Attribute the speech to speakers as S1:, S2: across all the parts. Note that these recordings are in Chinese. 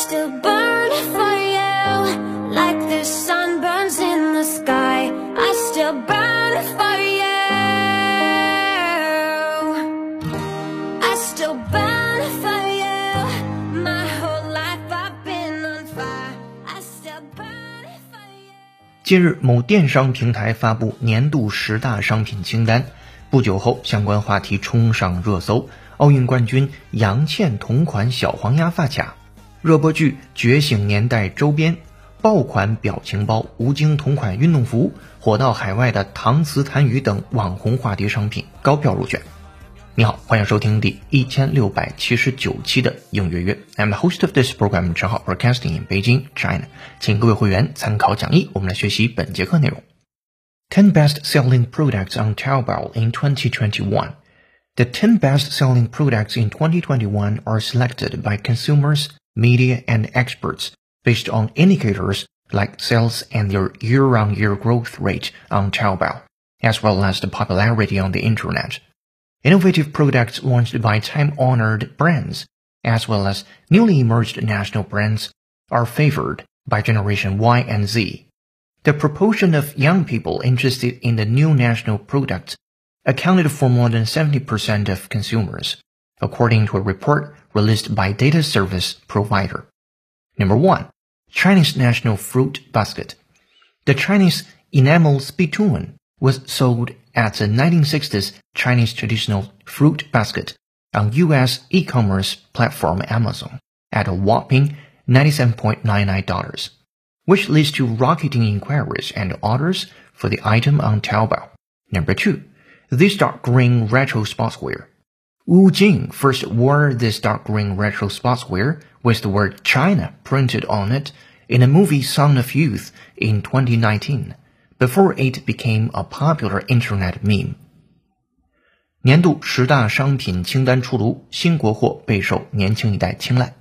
S1: still burn for you, like the sun burns in the sky. I still burn for you. I still burn for you. My whole life I've been on fire. I still burn for you.
S2: 近日，某电商平台发布年度10大商品清单，不久后相关话题冲上热搜。奥运冠军杨倩同款小黄鸭发卡，热播剧《觉醒年代》周边，爆款表情包，吴京同款运动服，火到海外的搪瓷痰盂等网红话题商品高票入选。你好，欢迎收听第1679期的应约约。I'm the host of this program, 陈浩 broadcasting in Beijing, China. 请各位会员参考讲义，我们来学习本节课内容。10 best-selling products on Taobao in 2021.The 10 best-selling products in 2021 are selected by consumers, media, and experts based on indicators like sales and their year-on-year growth rate on Taobao, as well as the popularity on the internet. Innovative products launched by time-honored brands, as well as newly emerged national brands, are favored by Generation Y and Z. The proportion of young people interested in the new national products accounted for more than 70% of consumers, according to a report released by data service provider. Number 1. Chinese National Fruit Basket. The Chinese enamel spittoon was sold at the 1960s Chinese traditional fruit basket on U.S. e-commerce platform Amazon at a whopping $97.99, which leads to rocketing inquiries and orders for the item on Taobao. Number 2. This dark green retro sportswear. Wu Jing first wore this dark green retro sportswear with the word China printed on it in the movie Song of Youth in 2019, before it became a popular internet meme. 年度10大商品清单出炉，新国货备受年轻一代青睐。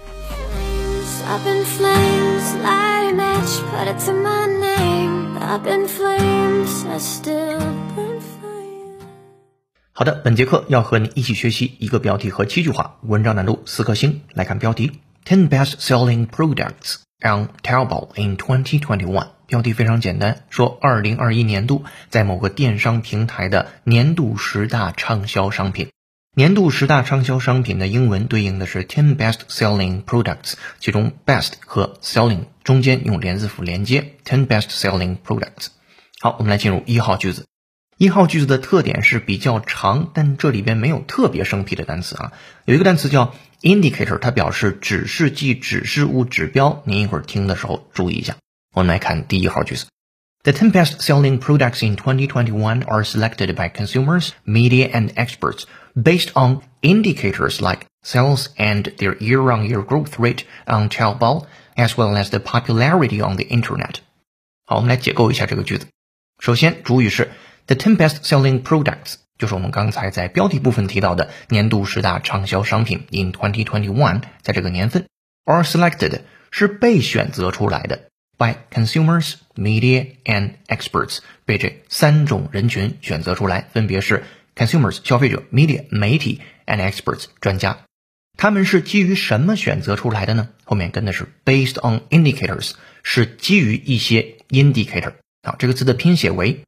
S1: Up in flames, light a match, put it to my name. Up in flames, I still burn for you.
S2: 好的，本节课要和你一起学习一个标题和7句话，文章难度4颗星。来看标题 10 best-selling products on Taobao in 2021。标题非常简单，说2021年度在某个电商平台的年度10大畅销商品。年度10大畅销商品的英文对应的是 10 best-selling products， 其中 best 和 selling 中间用连字符连接 10 best-selling products。 好，我们来进入1号句子。1号句子的特点是比较长，但这里边没有特别生僻的单词啊。有一个单词叫 indicator， 它表示指示剂、指示物、指标，您一会儿听的时候注意一下。我们来看第1号句子。The 10 best-selling products in 2021 are selected by consumers, media, and experts based on indicators like sales and their year-on-year growth rate on Taobao, as well as the popularity on the internet. 好，我们来解构一下这个句子。首先，主语是 The 10 best-selling products， 就是我们刚才在标题部分提到的年度10大畅销商品 in 2021， 在这个年份 are selected 是被选择出来的by consumers, media, and experts， 被这3种人群选择出来，分别是 consumers 消费者、media 媒体 and experts 专家。他们是基于什么选择出来的呢？后面跟的是 based on indicators， 是基于一些 indicator。 好，这个词的拼写为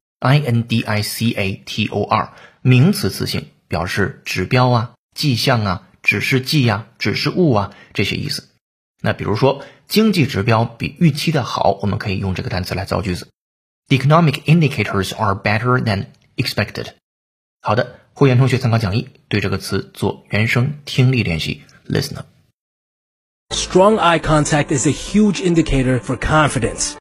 S2: indicator， 名词词性，表示指标啊、迹象啊、指示剂啊、指示物啊这些意思。那比如说经济指标比预期的好，我们可以用这个单词来造句子。The economic indicators are better than expected。 好的，会员同学参考讲义，对这个词做原声听力练习 Listen up.
S3: Strong eye contact is a huge indicator for confidence.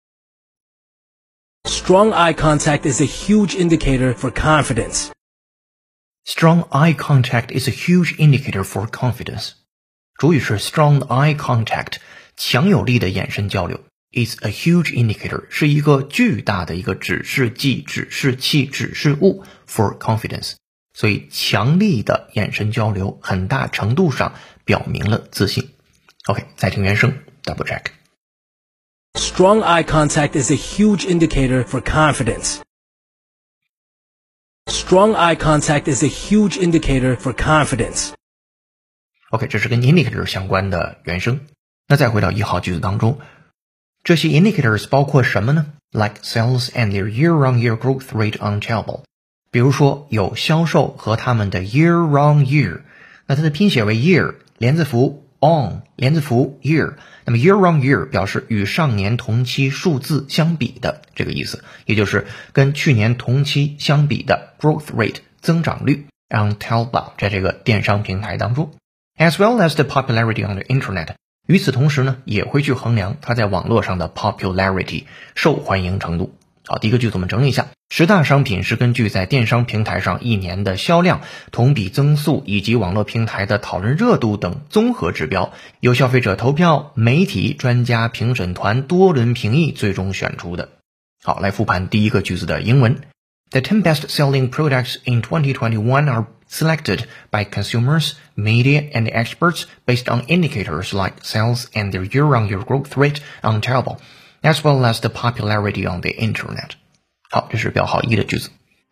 S3: Strong eye contact is a huge indicator for confidence.
S2: Strong eye contact is a huge indicator for confidence. 主语是 strong eye contact， 强有力的眼神交流。Is a huge indicator， 是一个巨大的一个指示剂、指示器、指示物 for confidence。所以强力的眼神交流很大程度上表明了自信。OK， 再听原声 double check。
S3: Strong eye contact is a huge indicator for confidence. Strong eye contact is a huge indicator for confidence.
S2: OK， 这是跟 indicator 相关的原声。 那再回到1号句子当中，这些 indicators 包括什么呢？ Like sales and their year-on-year growth rate on Taobao。 比如说有销售和他们的 year-on-year， 那它的拼写为 year 连字符 on 连字符 year， 那么 year-on-year 表示与上年同期数字相比的这个意思，也就是跟去年同期相比的 growth rate 增长率 on Taobao 在这个电商平台当中， as well as the popularity on the internet。与此同时呢，也会去衡量它在网络上的 popularity 受欢迎程度。好，第一个句子我们整理一下，10大商品是根据在电商平台上一年的销量、同比增速以及网络平台的讨论热度等综合指标，由消费者投票、媒体、专家、评审团多轮评议最终选出的。好，来复盘第一个句子的英文。The 10 best-selling products in 2021 are selected by consumers, media, and experts based on indicators like sales and their year-on-year growth rate on Taobao, as well as the popularity on the internet. 好，这是标号1的句子。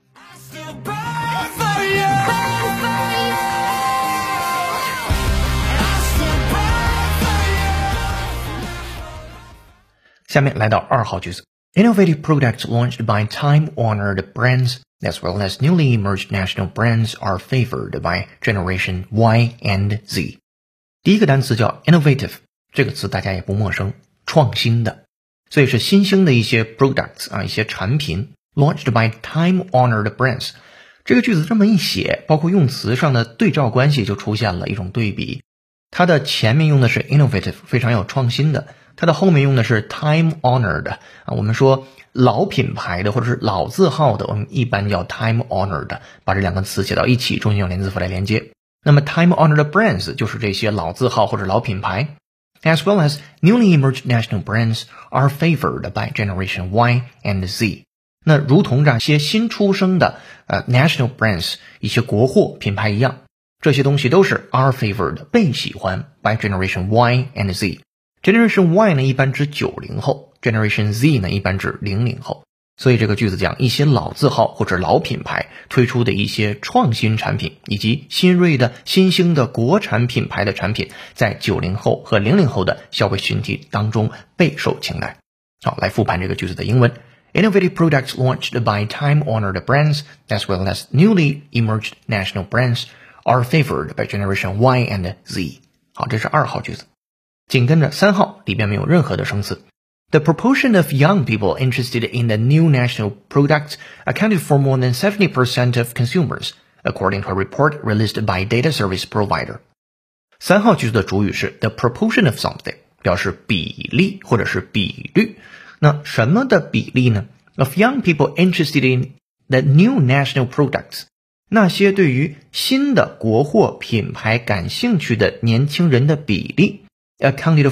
S2: 下面来到2号句子。Innovative products launched by time-honored brands as well as newly emerged national brands are favored by Generation Y and Z. 第一个单词叫 innovative， 这个词大家也不陌生，创新的，所以是新兴的一些 products 一些产品 launched by time-honored brands。 这个句子这么一写，包括用词上的对照关系就出现了一种对比，它的前面用的是 innovative， 非常有创新的，它的后面用的是 time-honored 我们说老品牌的或者是老字号的，我们一般叫 time-honored， 把这两个词写到一起，中间用连字符来连接。那么 time-honored brands 就是这些老字号或者老品牌。As well as newly emerged national brands are favored by Generation Y and Z。 那如同这些新出生的national brands 一些国货品牌一样，这些东西都是 are favored 被喜欢 by Generation Y and Z。Generation Y 呢一般指90后， Generation Z 呢一般指00后，所以这个句子讲一些老字号或者老品牌推出的一些创新产品以及新锐的新兴的国产品牌的产品在90后和00后的消费群体当中备受青睐。好，来复盘这个句子的英文。 Innovative products launched by time-honored brands as well as newly emerged national brands are favored by Generation Y and Z。 好，这是2号句子。紧跟着3号里边没有任何的生词。 The proportion of young people interested in the new national product accounted for more than 70% of consumers, according to a report released by data service provider. 3号句子的主语是 the proportion of something， 表示比例或者是比率。那什么的比例呢？ Of young people interested in the new national products， 那些对于新的国货品牌感兴趣的年轻人的比例。Accounted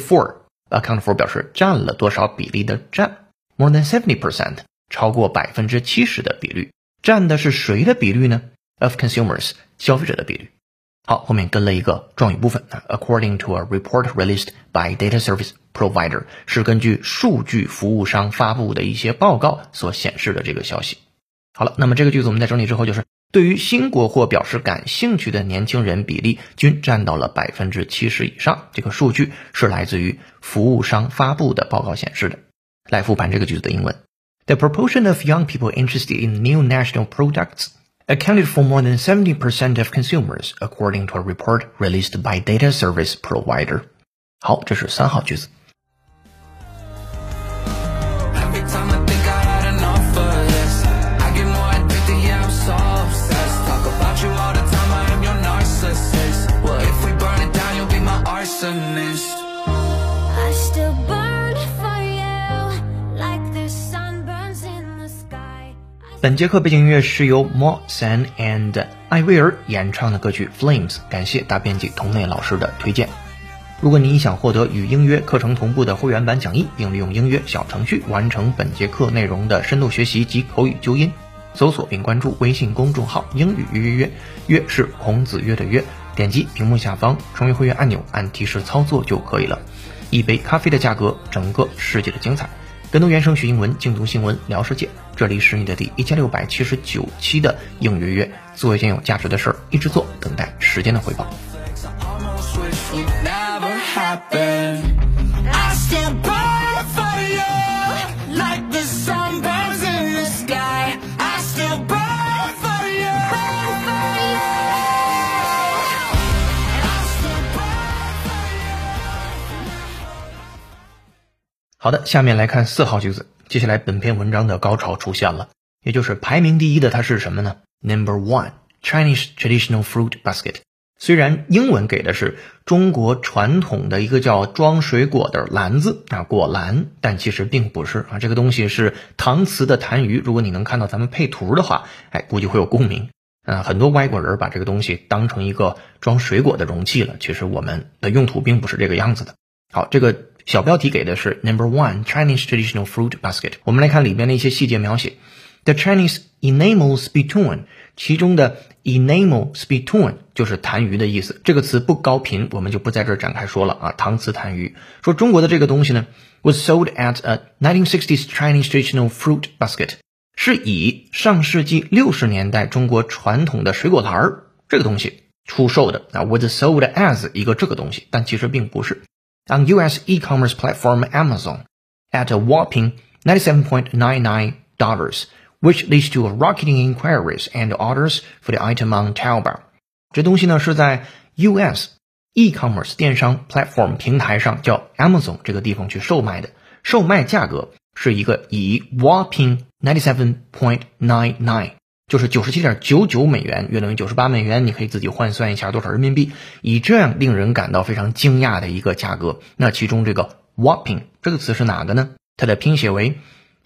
S2: for 表示占了多少比例的占， more than 70%， 超过 70% 的比率。占的是谁的比率呢？ Of consumers， 消费者的比率。好，后面跟了一个状语部分。According to a report released by data service provider， 是根据数据服务商发布的一些报告所显示的这个消息。好了，那么这个句子我们在整理之后就是对于新国货表示感兴趣的年轻人比例均占到了 70% 以上，这个数据是来自于服务商发布的报告显示的。来复盘这个句子的英文。 The proportion of young people interested in new national products accounted for more than 70% of consumers, according to a report released by data service provider. 好，这是3号句子。本节课背景音乐是由 Mo-San and 艾薇儿演唱的歌曲 Flames， 感谢大编辑童内老师的推荐。如果你想获得与英约课程同步的会员版讲义，并利用英约小程序完成本节课内容的深度学习及口语纠音，搜索并关注微信公众号英语约，约是孔子约的约，点击屏幕下方成为会员按钮，按提示操作就可以了。一杯咖啡的价格，整个世界的精彩。更多原声学英文，精读新闻，聊世界。这里是你的第1679期的英约约，做一件有价值的事儿，一直做，等待时间的回报。
S1: still burn for you, like the sun burns in the sky. I still burn for you, burn for you. I still burn for you.
S2: 好的，下面来看4号句子。接下来本篇文章的高潮出现了，也就是排名第一的它是什么呢？ Number 1 Chinese traditional fruit basket。 虽然英文给的是中国传统的一个叫装水果的篮子果篮，但其实并不是这个东西是搪瓷的痰盂。如果你能看到咱们配图的话，估计会有共鸣。很多外国人把这个东西当成一个装水果的容器了，其实我们的用途并不是这个样子的。好，这个小标题给的是 Number 1 Chinese traditional fruit basket。 我们来看里边的一些细节描写。 The Chinese enamel spittoon， 其中的 enamel spittoon 就是痰盂的意思，这个词不高频，我们就不在这儿展开说了搪瓷痰盂。说中国的这个东西呢 was sold at a 1960s Chinese traditional fruit basket， 是以上世纪60年代中国传统的水果篮这个东西出售的was sold as 一个这个东西，但其实并不是。On US e-commerce platform Amazon at a whopping $97.99, which leads to rocketing inquiries and orders for the item on Taobao。 这东西呢是在 US e-commerce 电商 platform 平台上叫 Amazon 这个地方去售卖的，售卖价格是一个以 whopping $97.99， 就是97.99美元，约等于98美元，你可以自己换算一下多少人民币，以这样令人感到非常惊讶的一个价格。那其中这个 whopping 这个词是哪个呢？它的拼写为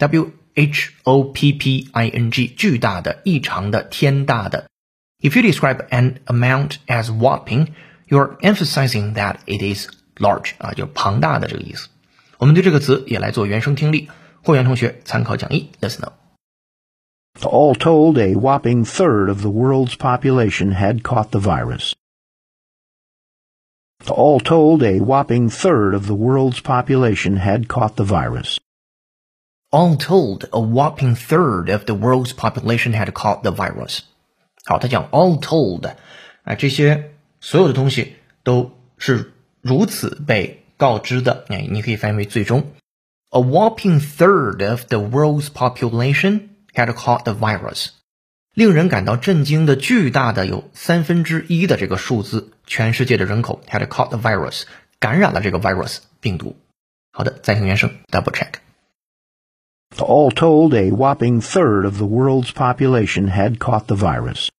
S2: WHOPPING， 巨大的、异常的、天大的。 If you describe an amount as whopping, you're emphasizing that it is large， 就是庞大的这个意思。我们对这个词也来做原声听力，会员同学参考讲义 Listen up。
S4: All told, a whopping third of the world's population had caught the virus. All told, a whopping third of the world's population had caught the virus.
S2: All told, a whopping third of the world's population had caught the virus。 好，他讲 all told， 这些所有的东西都是如此被告知的，你可以翻译为最终。A whopping third of the world's population had caught the virus。 令人感到震惊的巨大的有1/3的这个数字，全世界的人口 had caught the virus， 感染了这个 virus 病毒。好的，再听原声 double check。All
S4: told, a whopping third of the world's population had caught the virus.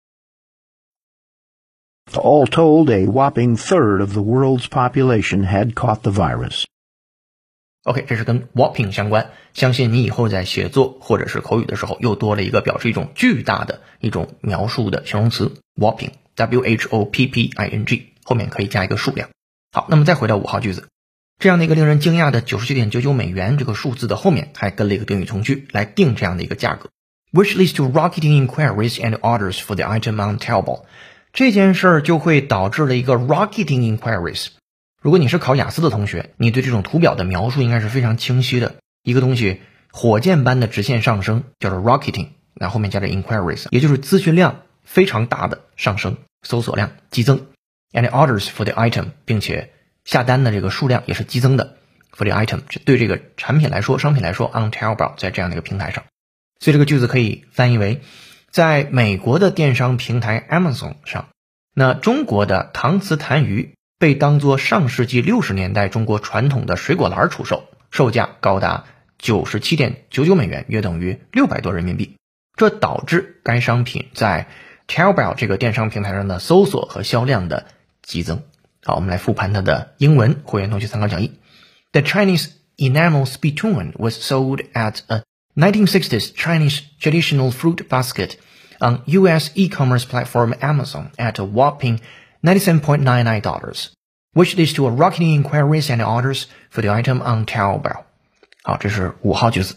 S4: All told, a whopping third of the world's population had caught the virus.
S2: OK， 这是跟 whopping 相关，相信你以后在写作或者是口语的时候又多了一个表示一种巨大的一种描述的形容词 whopping， WHOPPING， 后面可以加一个数量。好，那么再回到5号句子。这样的一个令人惊讶的 99.99 美元这个数字的后面还跟了一个定语从句来定这样的一个价格 which leads to rocketing inquiries and orders for the item on Taobao。 这件事儿就会导致了一个 rocketing inquiries。 如果你是考雅思的同学，你对这种图表的描述应该是非常清晰的，一个东西火箭般的直线上升叫做 rocketing， 那后面加着 inquiries， 也就是资讯量非常大的上升，搜索量激增 and orders for the item， 并且下单的这个数量也是激增的 for the item， 对这个产品来说商品来说 on Taobao， 在这样的一个平台上。所以这个句子可以翻译为在美国的电商平台 Amazon 上，那中国的搪瓷痰盂被当作上世纪60年代中国传统的水果篮出售，售价高达 97.99 美元，约等于600多人民币。这导致该商品在 Taobao 这个电商平台上的搜索和销量的激增。好，我们来复盘它的英文，会员同学参考讲义。The Chinese enamel spittoon was sold at a 1960s Chinese traditional fruit basket on US e-commerce platform Amazon at a whopping $97.99, which leads to a rocketing inquiries and orders for the item on Taobao。 好，这是5号句子。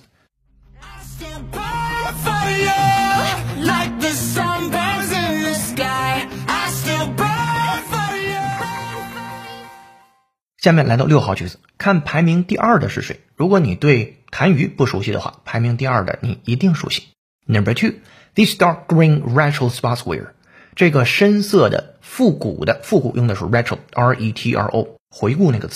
S2: 下面来到6号句子，看排名第2的是谁？如果你对痰盂不熟悉的话，排名第2的你一定熟悉。Number 2, this dark green retro sportswear， 这个深色的复古用的是 retro， R-E-T-R-O， 回顾那个词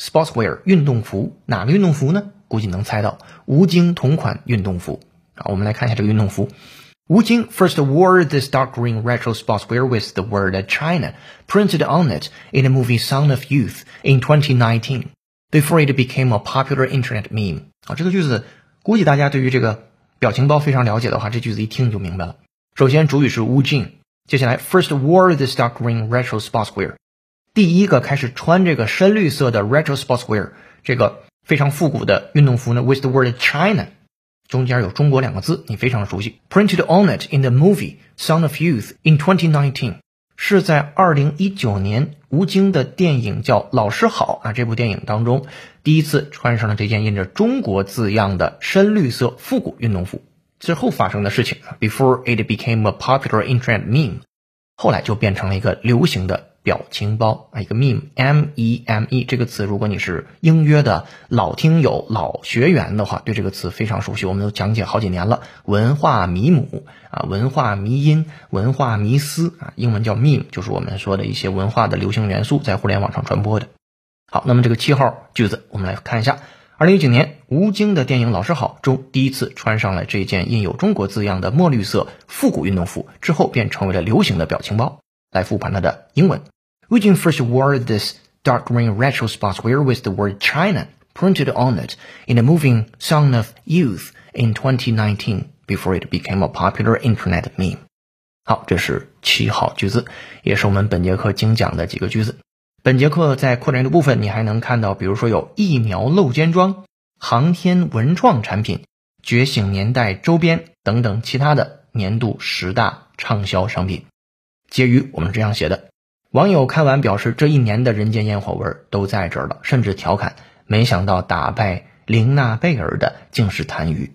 S2: sportswear 运动服，哪个运动服呢？估计能猜到，吴京同款运动服。我们来看一下这个运动服。吴京 first wore this dark green retro sportswear with the word China printed on it in the movie Sound of Youth in 2019, before it became a popular internet meme. 这个句子估计大家对于这个表情包非常了解的话，这句子一听就明白了。首先主语是吴京，接下来 first wore this dark green retro sportswear， 第一个开始穿这个深绿色的 retro sportswear， 这个非常复古的运动服呢 with the word China， 中间有中国两个字，你非常熟悉。 Printed on it in the movie Sound of Youth in 2019， 是在2019年吴京的电影叫《老师好》这部电影当中第一次穿上了这件印着中国字样的深绿色复古运动服。之后发生的事情 before it became a popular internet meme， 后来就变成了一个流行的表情包，一个 meme M-E-M-E 这个词，如果你是英约的老听友老学员的话，对这个词非常熟悉，我们都讲解好几年了。文化迷母文化迷因，文化迷思英文叫 meme， 就是我们说的一些文化的流行元素在互联网上传播的。好，那么这个7号句子我们来看一下。2019年吴京的电影《老师好》中第一次穿上了这件印有中国字样的墨绿色复古运动服，之后便成为了流行的表情包。来复盘它的英文。吴京 first wore this dark green retro sportswear with the word China printed on it in the movie Sound of Youth in 2019, before it became a popular internet meme. 好，这是7号句子，也是我们本节课精讲的几个句子。本节课在扩展阅读部分，你还能看到，比如说有疫苗露肩装、航天文创产品、觉醒年代周边等等其他的年度10大畅销商品。结语我们这样写的，网友看完表示这一年的人间烟火味都在这儿了，甚至调侃没想到打败玲娜贝尔的竟是谭鱼。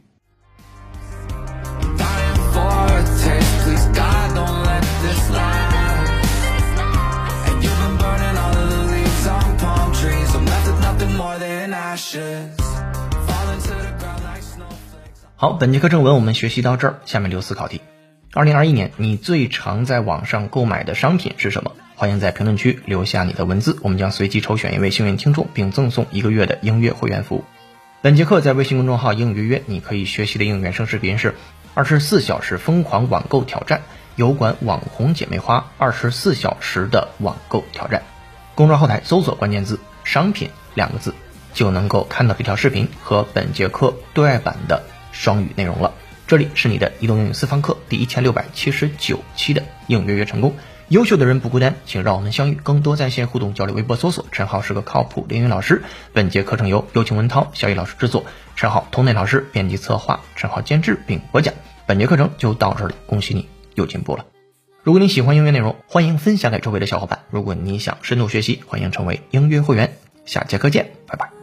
S2: 好，本节课正文我们学习到这儿，下面留思考题。2021年你最常在网上购买的商品是什么？欢迎在评论区留下你的文字，我们将随机抽选一位幸运听众，并赠送1个月的英约会员服务。本节课在微信公众号英语约约，你可以学习的英语原声视频是24小时疯狂网购挑战，有关网红姐妹花24小时的网购挑战。公众号后台搜索关键字商品2个字，就能够看到这条视频和本节课对外版的双语内容了。这里是你的移动英语私房课第1679期的英语约约成功。优秀的人不孤单，请让我们相遇，更多在线互动交流。微博搜索陈浩是个靠谱的英语老师。本节课程由有请文涛、小雨老师制作，陈浩同内老师编辑策划，陈浩监制并播讲。本节课程就到这儿了，恭喜你又进步了。如果你喜欢英约内容，欢迎分享给周围的小伙伴。如果你想深度学习，欢迎成为英约会员。下节课见，拜拜。